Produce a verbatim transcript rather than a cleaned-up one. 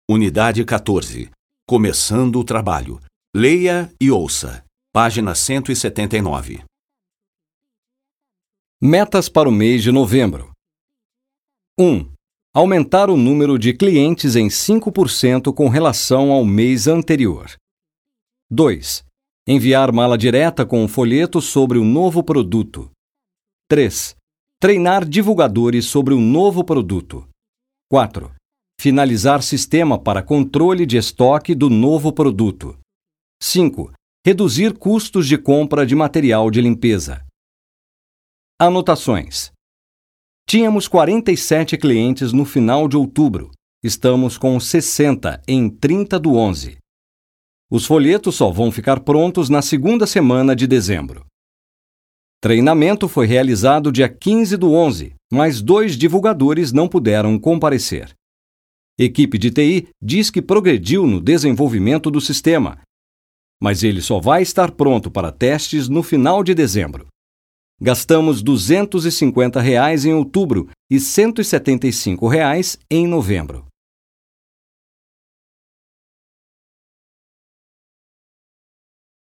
Unidade quatorze. Começando o trabalho. Leia e ouça. Página cento e setenta e nove. Metas para o mês de novembro. um. Aumentar o número de clientes em cinco por cento com relação ao mês anterior. dois. Enviar mala direta com um folheto sobre o novo produto. três. Treinar divulgadores sobre o novo produto. quatro. Finalizar sistema para controle de estoque do novo produto. cinco. Reduzir custos de compra de material de limpeza. Anotações. Tínhamos quarenta e sete clientes no final de outubro. Estamos com sessenta em trinta do onze. Os folhetos só vão ficar prontos na segunda semana de dezembro. Treinamento foi realizado dia quinze do onze, mas dois divulgadores não puderam comparecer. Equipe de T I diz que progrediu no desenvolvimento do sistema, mas ele só vai estar pronto para testes no final de dezembro. Gastamos duzentos e cinquenta reais em outubro e cento e setenta e cinco reais em novembro.